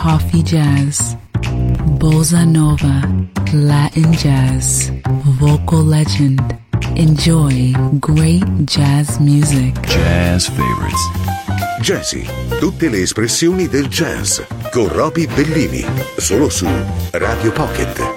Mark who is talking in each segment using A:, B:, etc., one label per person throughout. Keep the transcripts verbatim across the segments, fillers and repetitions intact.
A: coffee jazz, bossa nova, Latin jazz, vocal legend. Enjoy great jazz music.
B: Jazz favorites.
C: Jazzy, tutte le espressioni del jazz con Roby Bellini, solo su Radio Pocket.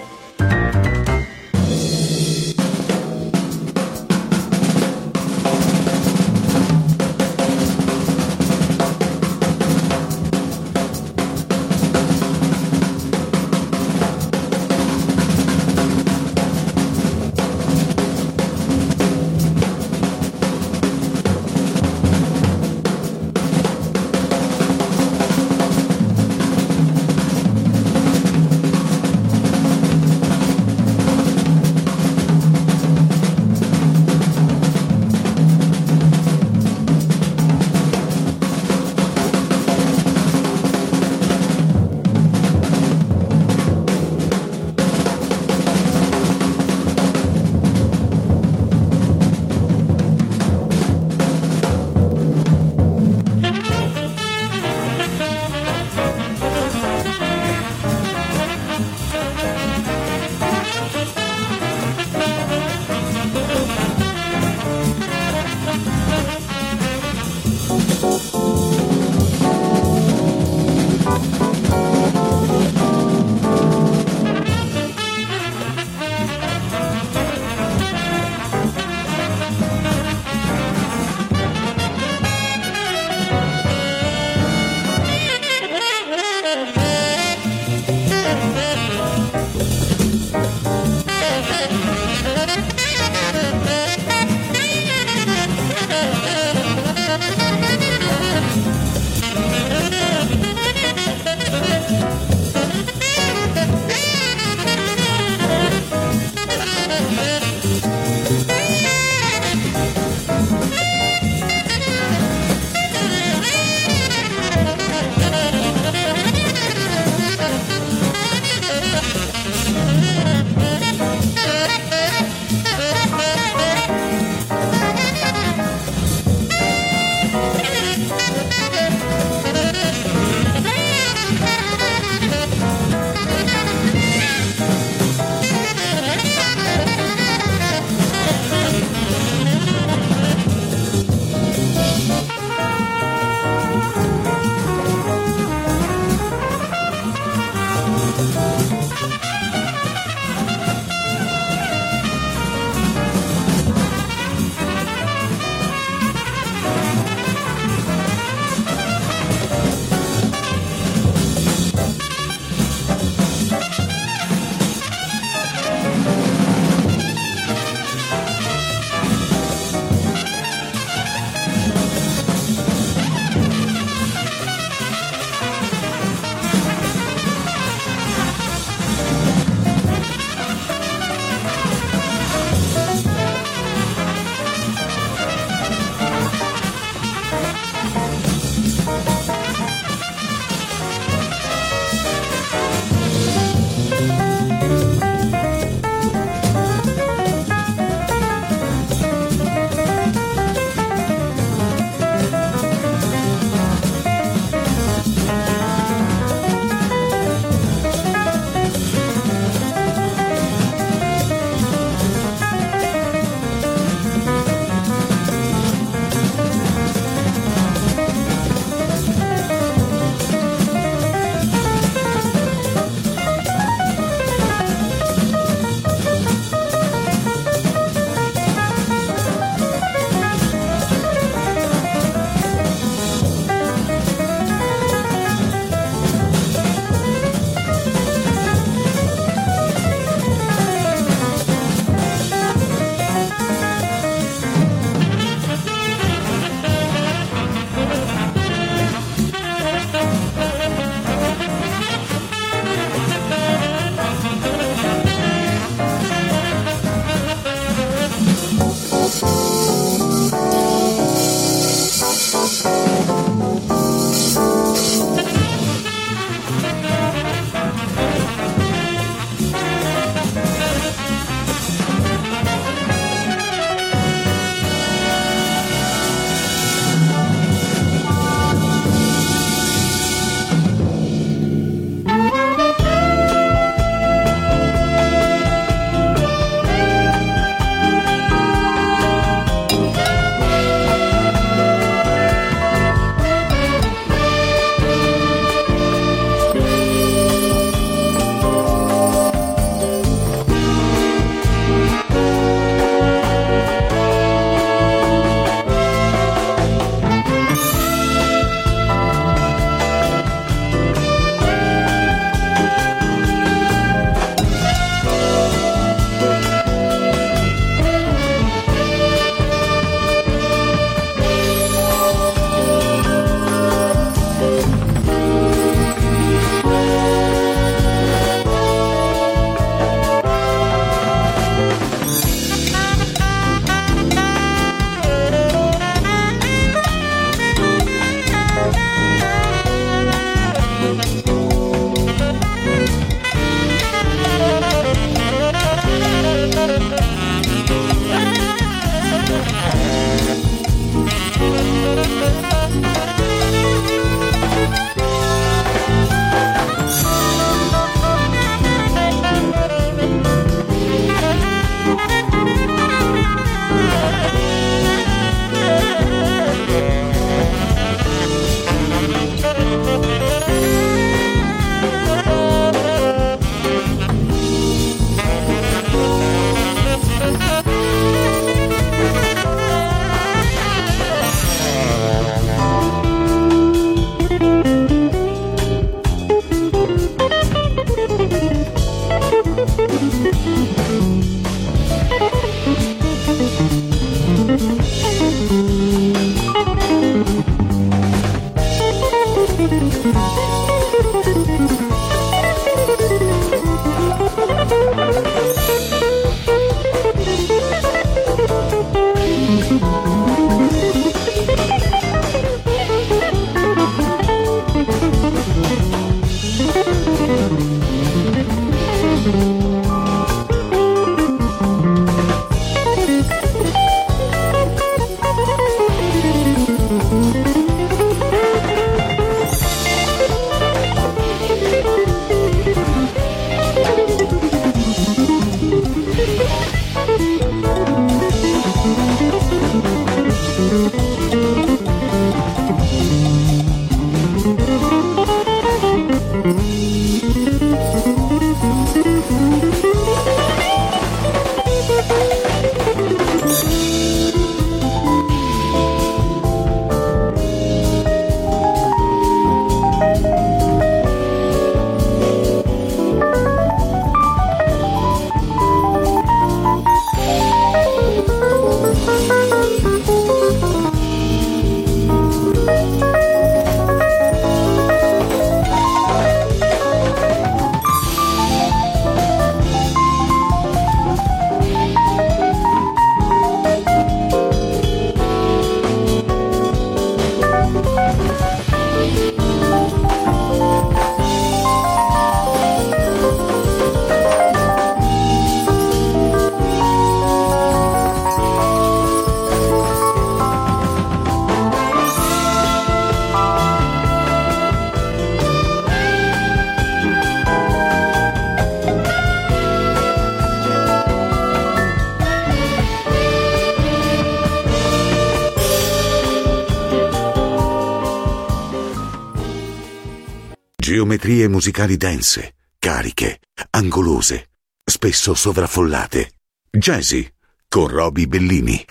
C: Geometrie musicali dense, cariche, angolose, spesso sovraffollate. Jazzy con Roby Bellini.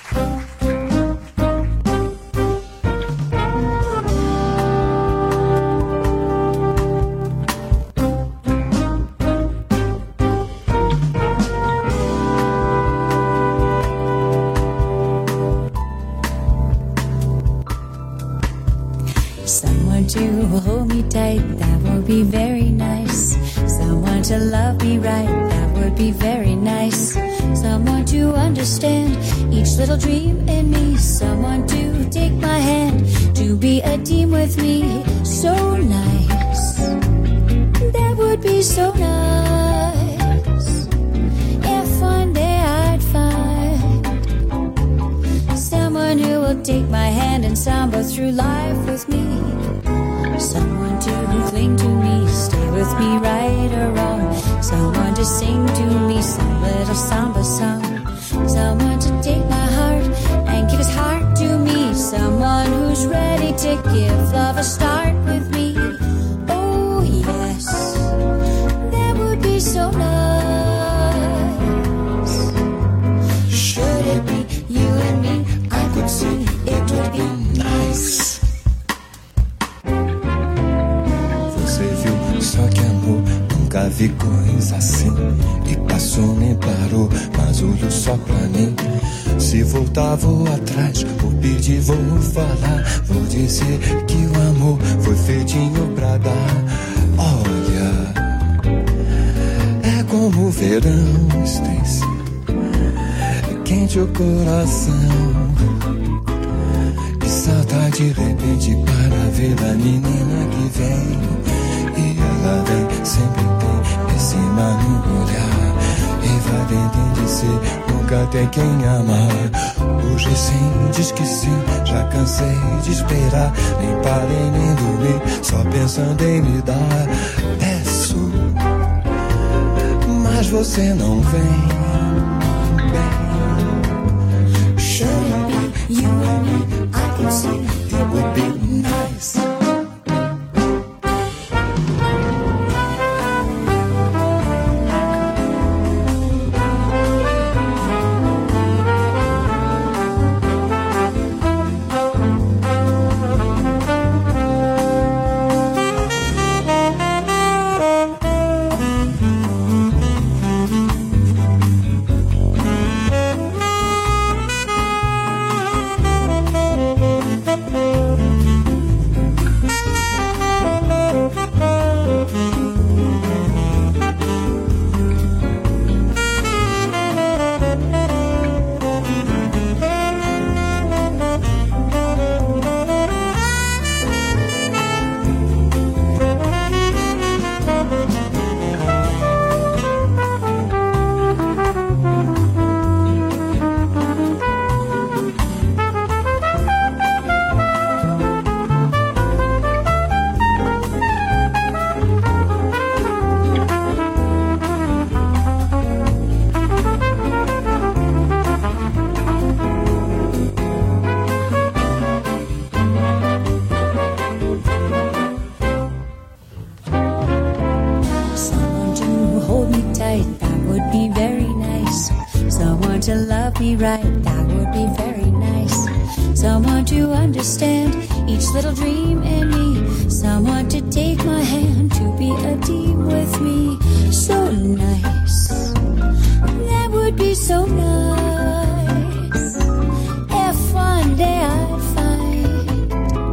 B: Someone to hold me tight, that would be very nice. Someone to love me right, that would be very nice. Someone to understand each little dream in me. Someone to take my hand, to be a team with me. So nice, that would be so nice. If one day I'd find someone who will take my hand and samba through life with me. Someone to cling to me, stay with me right or wrong. Someone to sing to me some little samba song. Someone to take my heart and give his heart to me. Someone who's ready to give love a start with me. Oh yes, that would be so nice. Should it be you and me? I could see it would be nice.
D: Só que amor, nunca vi coisa assim. E passou, nem parou, mas olhou só pra mim. Se voltar, vou atrás, vou pedir, vou falar. Vou dizer que o amor foi feitinho pra dar. Olha, é como o verão, Stacy, quente o coração. E saltar de repente para ver a menina que vem. E ela vem, sempre tem esse mar no olhar. E vai dentro de si, nunca tem quem amar. Hoje sim, diz que sim, já cansei de esperar. Nem parei nem dormi, só pensando em me dar. Peço, mas você não vem. Should it be you and me? I can see it would be nice. to love me right, that would be very nice. Someone to understand each little dream in me. Someone to take my hand, to be a team with me. So nice, that would be so nice. If one day I find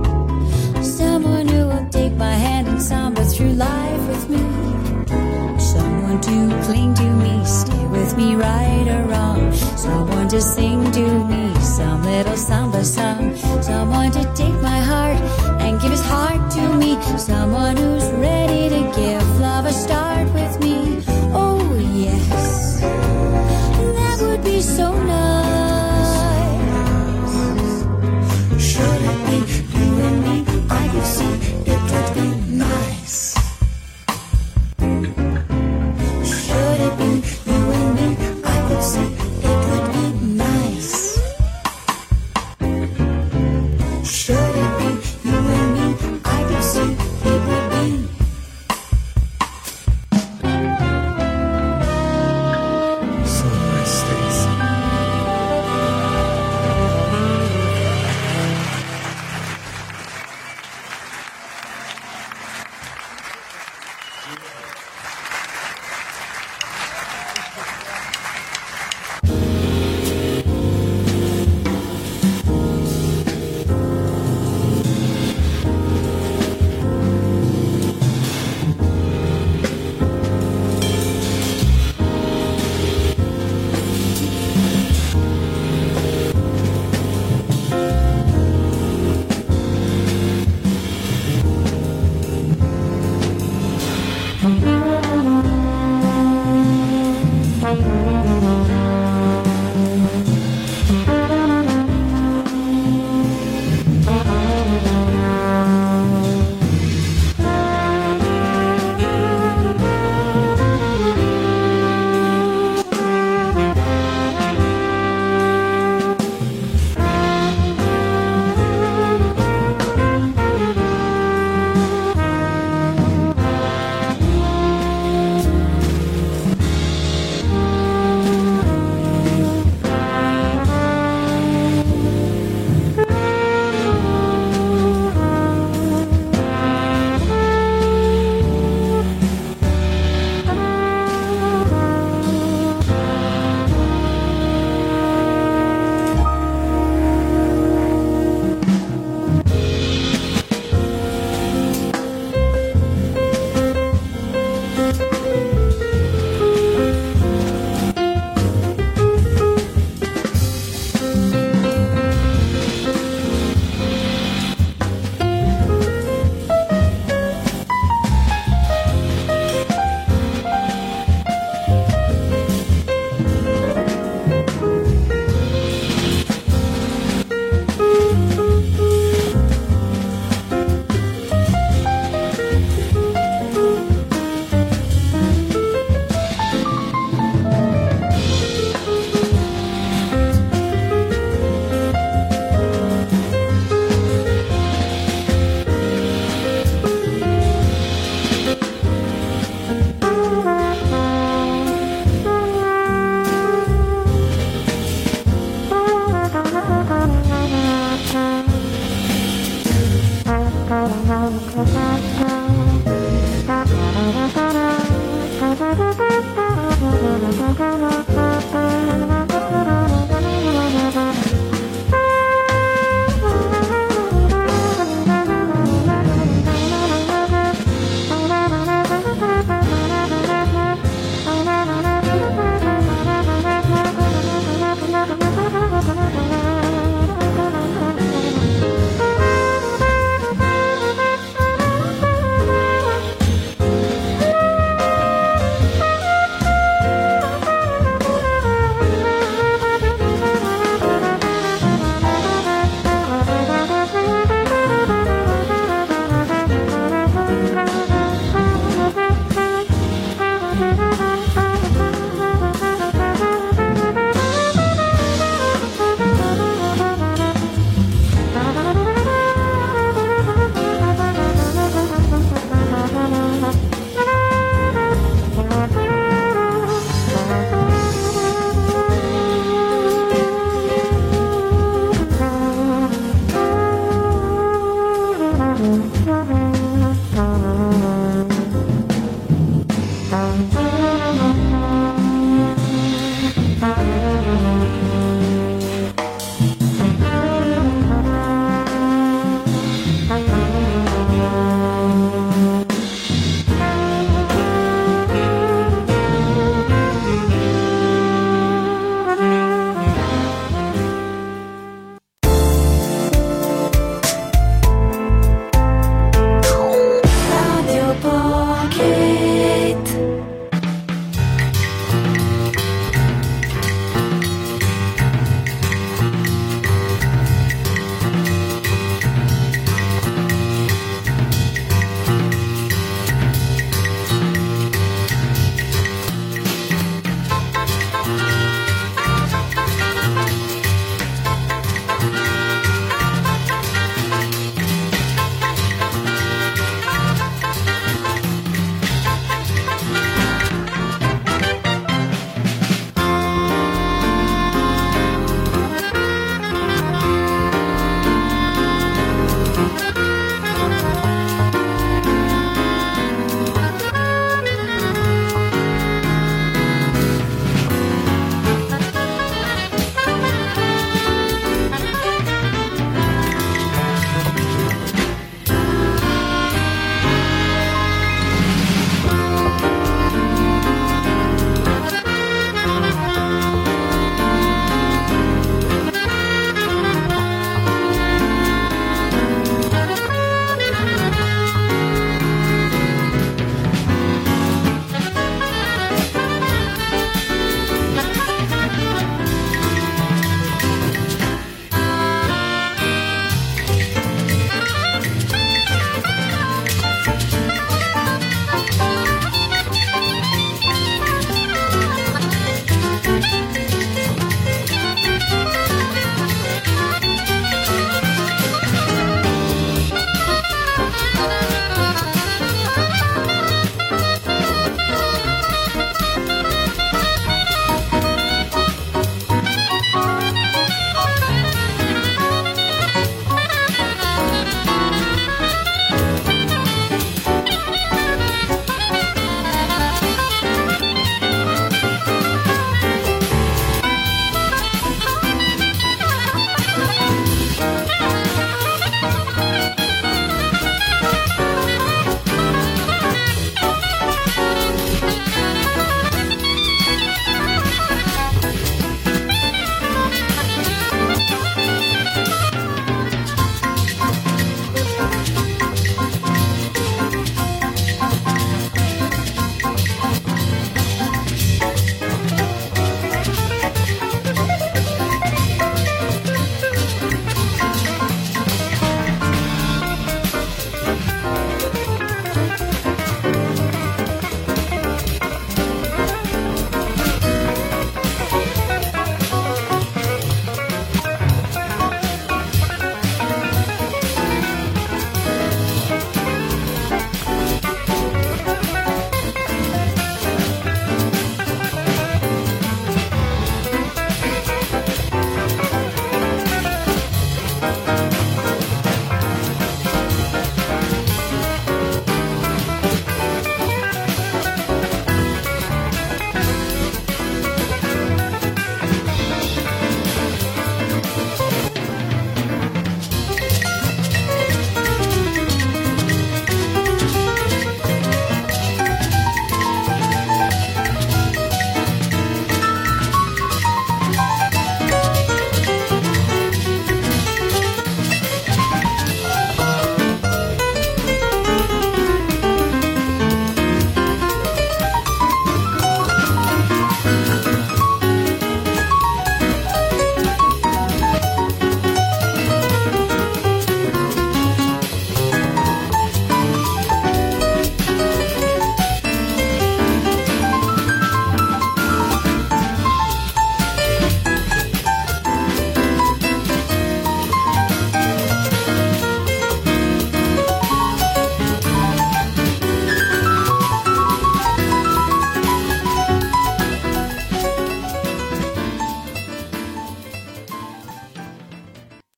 D: someone who will take my hand and samba through life with me. Someone to cling to me, stay with me right or wrong. Someone to sing to me some little samba song. Someone to take my heart and give his heart to me. Someone who's ready to give love a start with me. Oh yes, that would be so nice. Should it be you and me? I could see it would be nice. Should it be you and me? I could see it would be nice. Should it be you and me? I could see it would be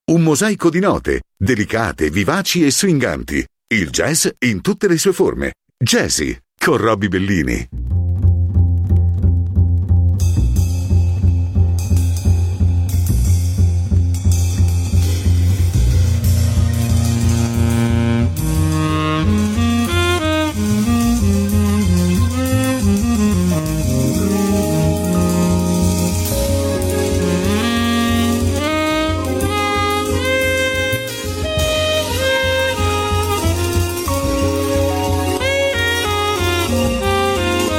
C: Un mosaico di note, delicate, vivaci e swinganti. Il jazz in tutte le sue forme. Jazzy, con Roby Bellini.
E: Thank you.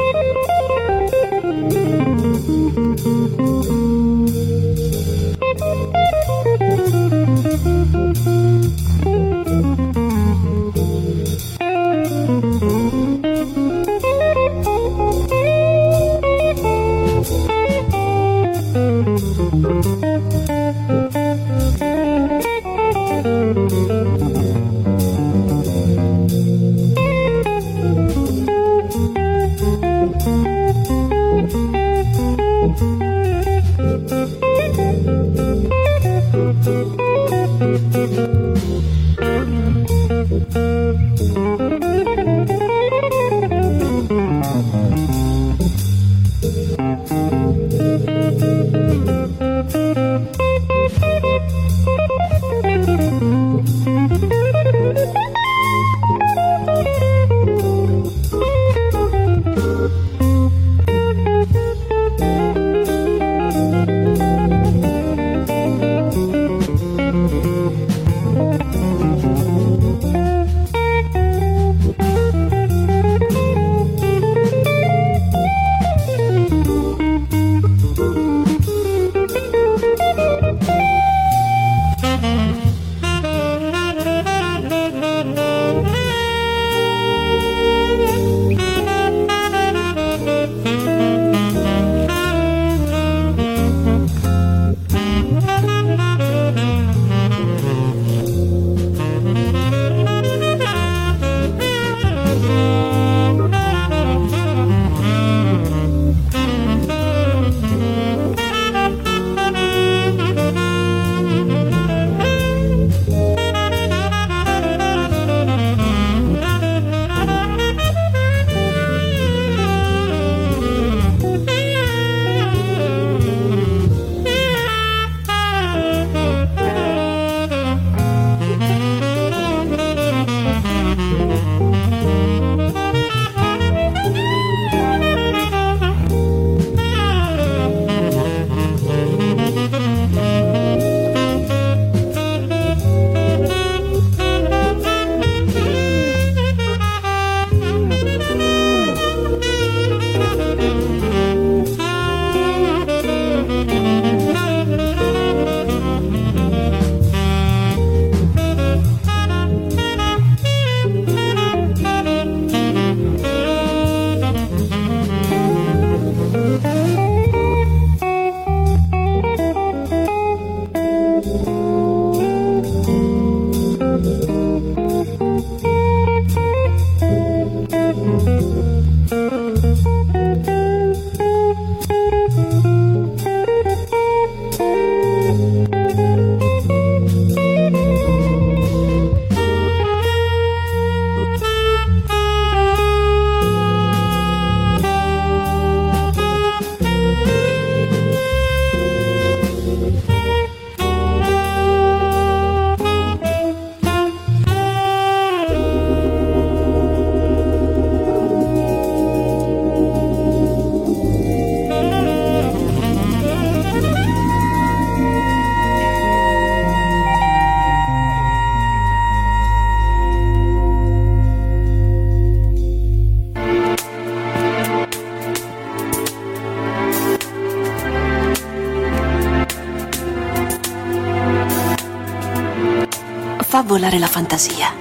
E: Fa volare la fantasia.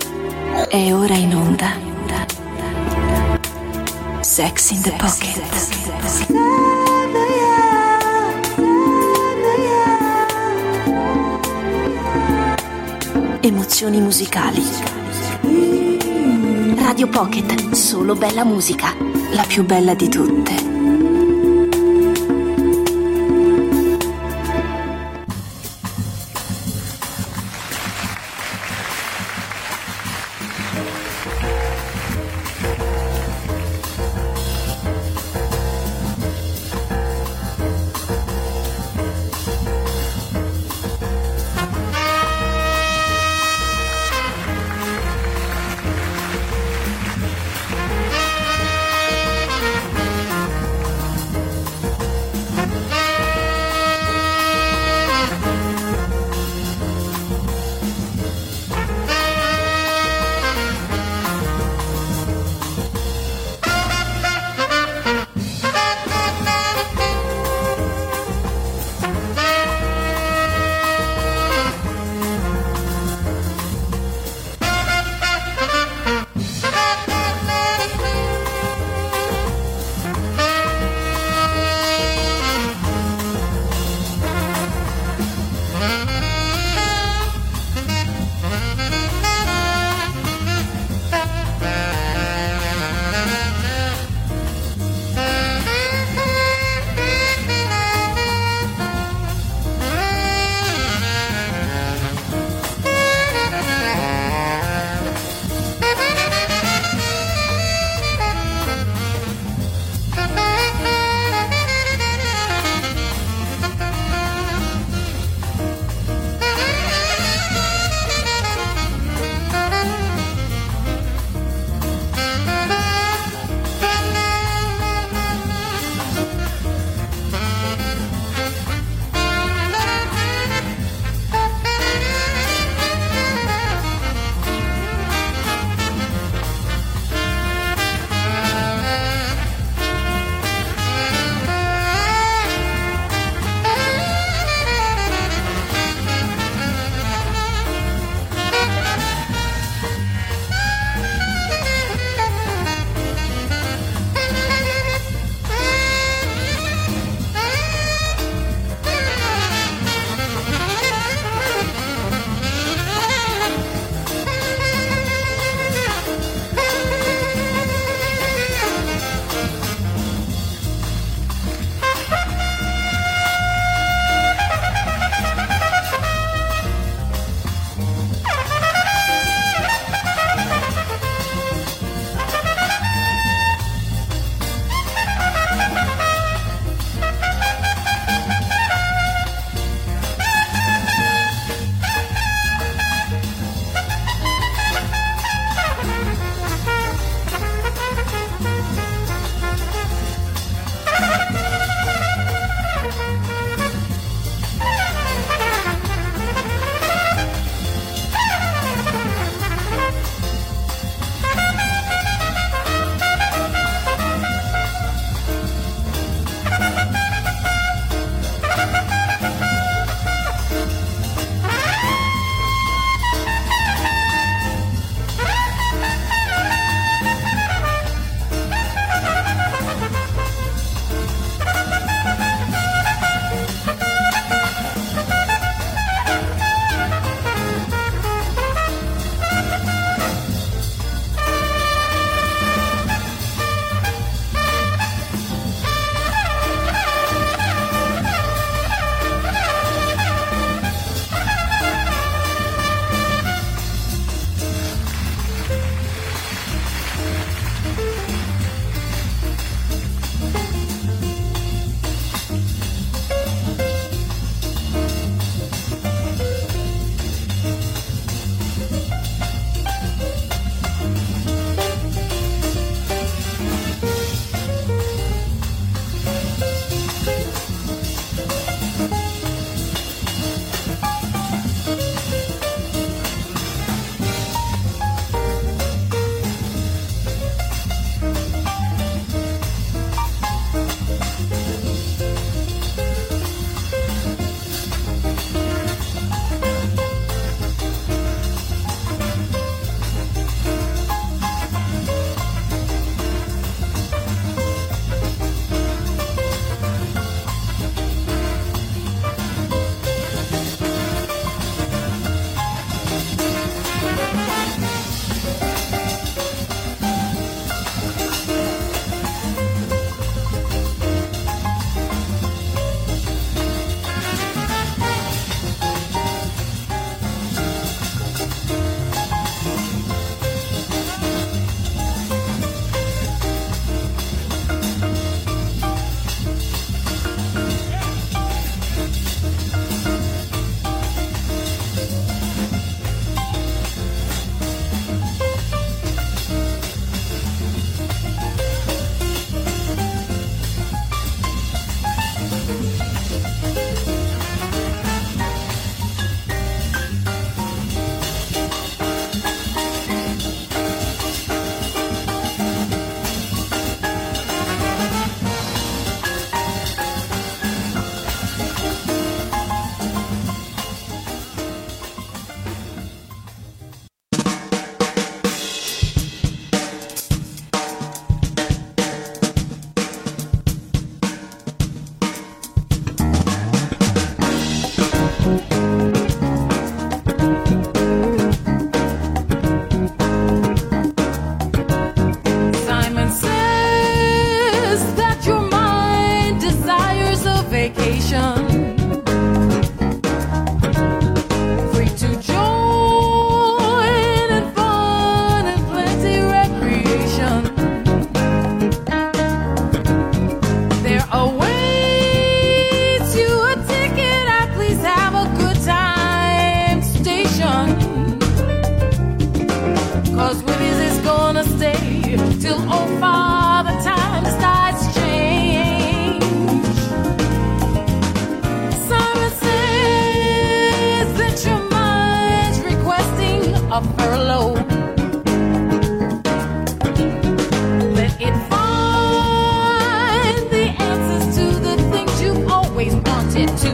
E: È ora in onda Sex in the Pocket. Emozioni musicali. Radio Pocket, solo bella musica, la più bella di tutte.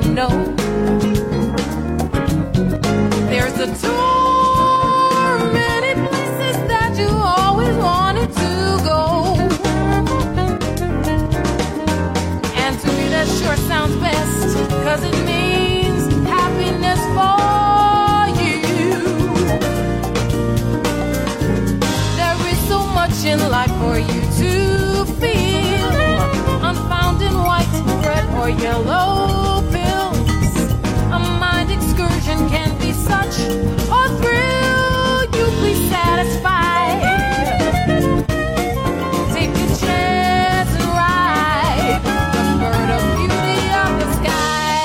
F: know. There's a tour, many places that you always wanted to go. And to me that sure sounds best, 'cause it means happiness for you. There is so much in life for you to feel, unfound in white, red or yellow pills. A mind excursion can be such a thrill. You please satisfy. Take a chance and ride the bird of beauty of the sky.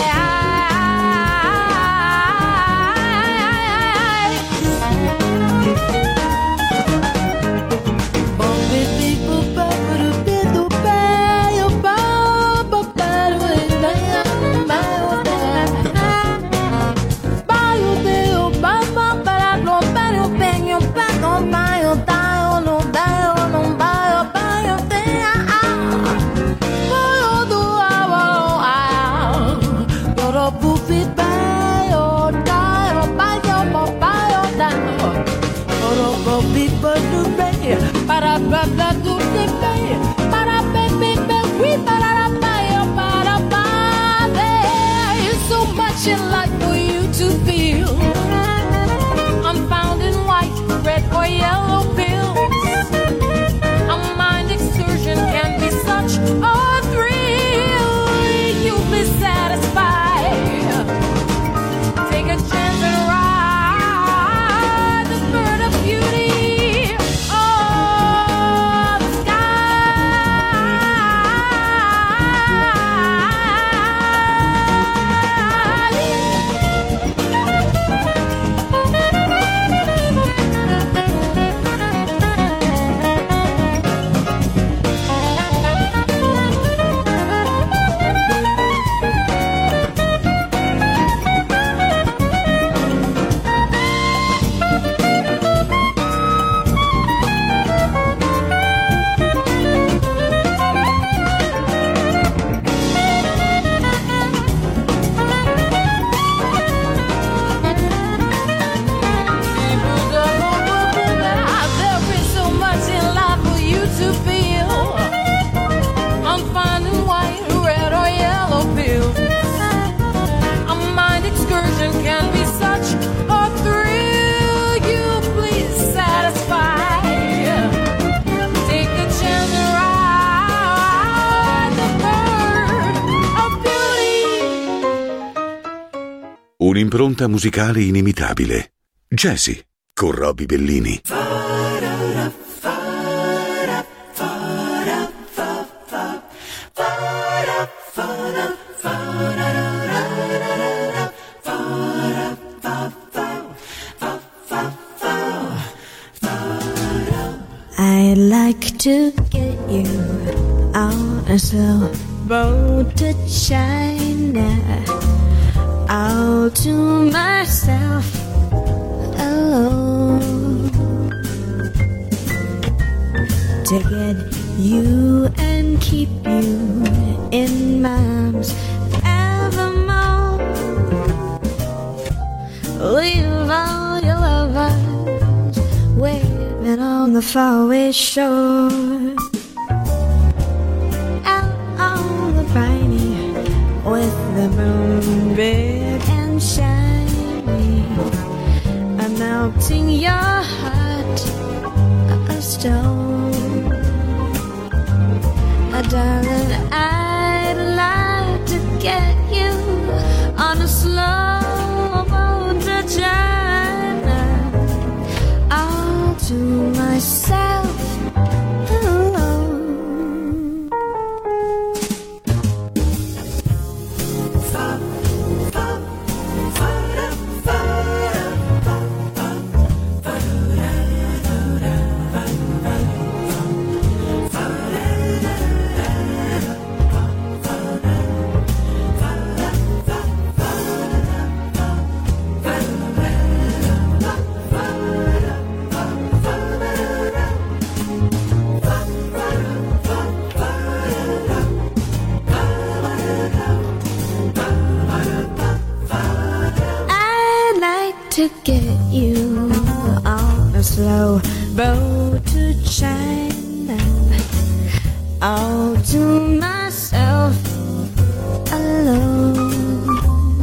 F: Bon, baby, boop, boop, boop, boop, boop, boop, boop, boop, there is so much in life for you to feel, unfound in white, red or yellow pills. A mind excursion can be such a thrill. You please satisfy. Take a chance and ride the bird of beauty.
C: Un'impronta musicale inimitabile. Jazzy con Roby Bellini.
D: I'd like to get you on a slow boat to China, all to myself alone, to get you and keep you in my arms evermore. Leave all your lovers waiting on the faraway shore, out on the briny with the moon big and shiny, and melting your heart of stone. Oh, darling, I'd like to get you on a slow boat to China, all to myself alone. to get you on a slow boat to China, all to myself alone.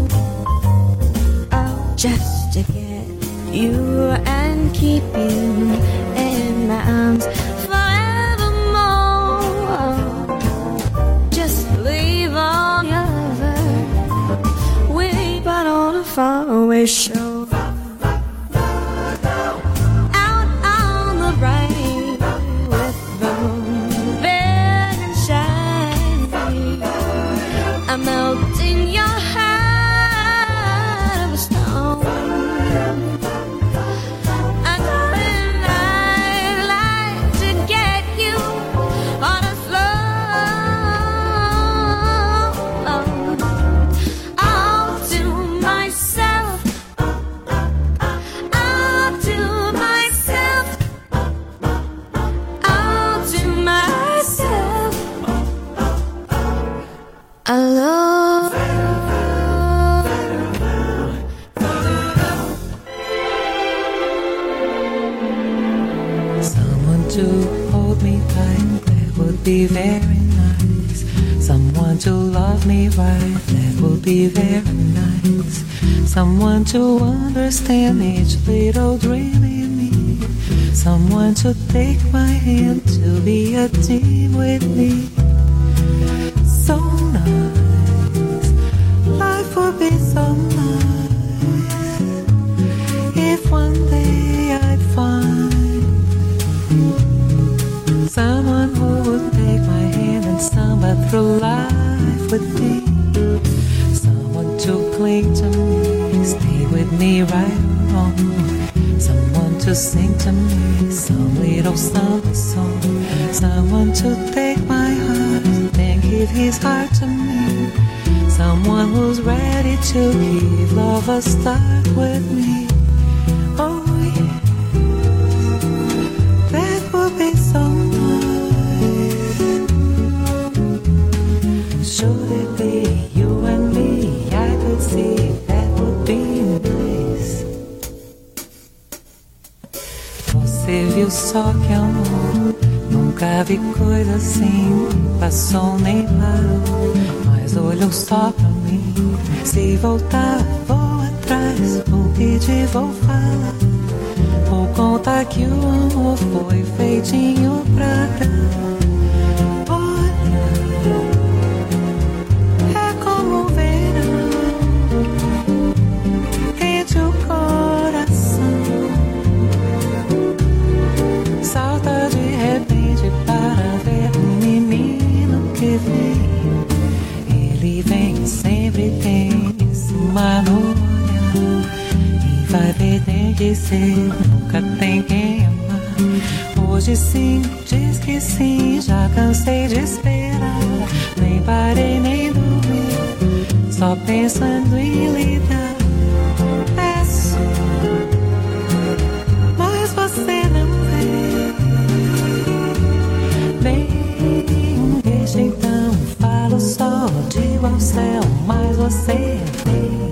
D: Oh, just to get you and keep you in my arms forevermore. Just leave all your lover waiting on a faraway shore.
G: Be very nice. Someone to love me right, that would be very nice. Someone to understand each little dream in me. Someone to take my hand, to be a team with me. So nice, life would be so nice if one day I'd find someone who would take my hand and stumble through life with me. Someone to cling to me, stay with me right along. Someone to sing to me some little summer song. Someone to take my heart and give his heart to me. Someone who's ready to give love a start with me. Oh yeah, that would be so nice. Should it be you and me? I could see that would be nice. Você viu só que amor? Nunca vi coisa assim. Passou nem parou, mas olhou só pra mim. Se voltar, vou atrás. Vou pedir, vou falar. Vou contar que o amor foi feitinho pra dar. Ele vem sempre, tem uma olhar e vai ver, tem que ser, nunca tem quem amar. Hoje sim, diz que sim, já cansei de esperar. Nem parei, nem dormi, só pensando em lidar. Peço, mas você não vê. Bem, deixa então, falo só, digo ao céu, mas você vem.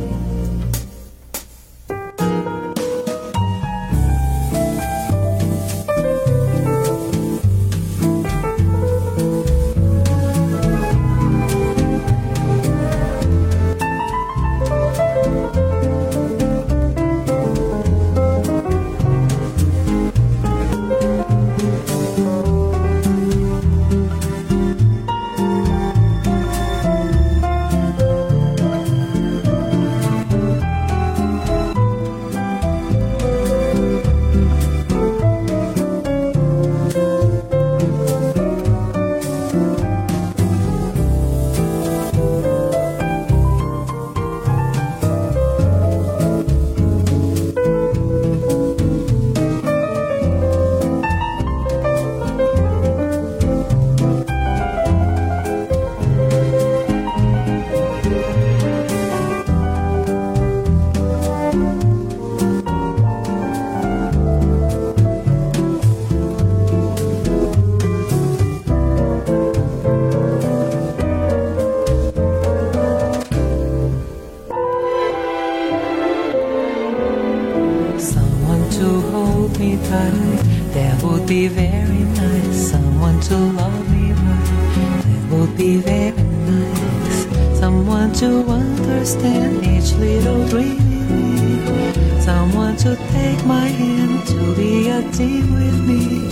G: be very nice. Someone to love me right, that would be very nice. Someone to understand each little dream in me. Someone to take my hand, to be a team with me.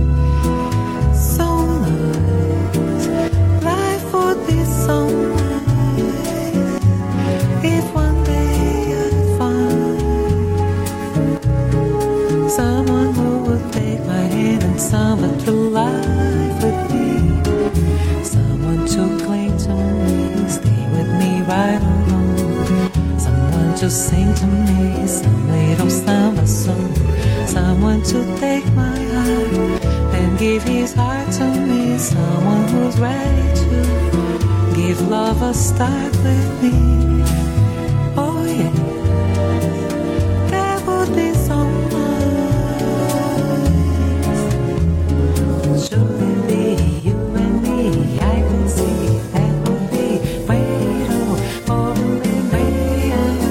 G: So nice, life would be so nice if one day I'd find someone who would take my hand and summer through life with me. Someone to cling to me, stay with me right along. Someone to sing to me some little summer song. Someone to take my heart and give his heart to me. Someone who's ready to give love a start with me. Oh yeah, that would be so nice. Should it be you and me? I can see that would be way more than way.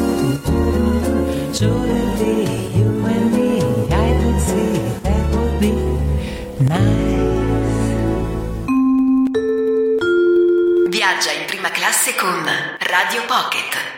G: Should it be you and me? I can see that would be nice.
E: Viaggia in prima classe con Radio Pocket.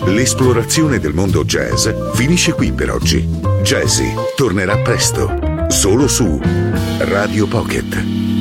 C: L'esplorazione del mondo jazz finisce qui per oggi. Jazzy tornerà presto, solo su Radio Pocket.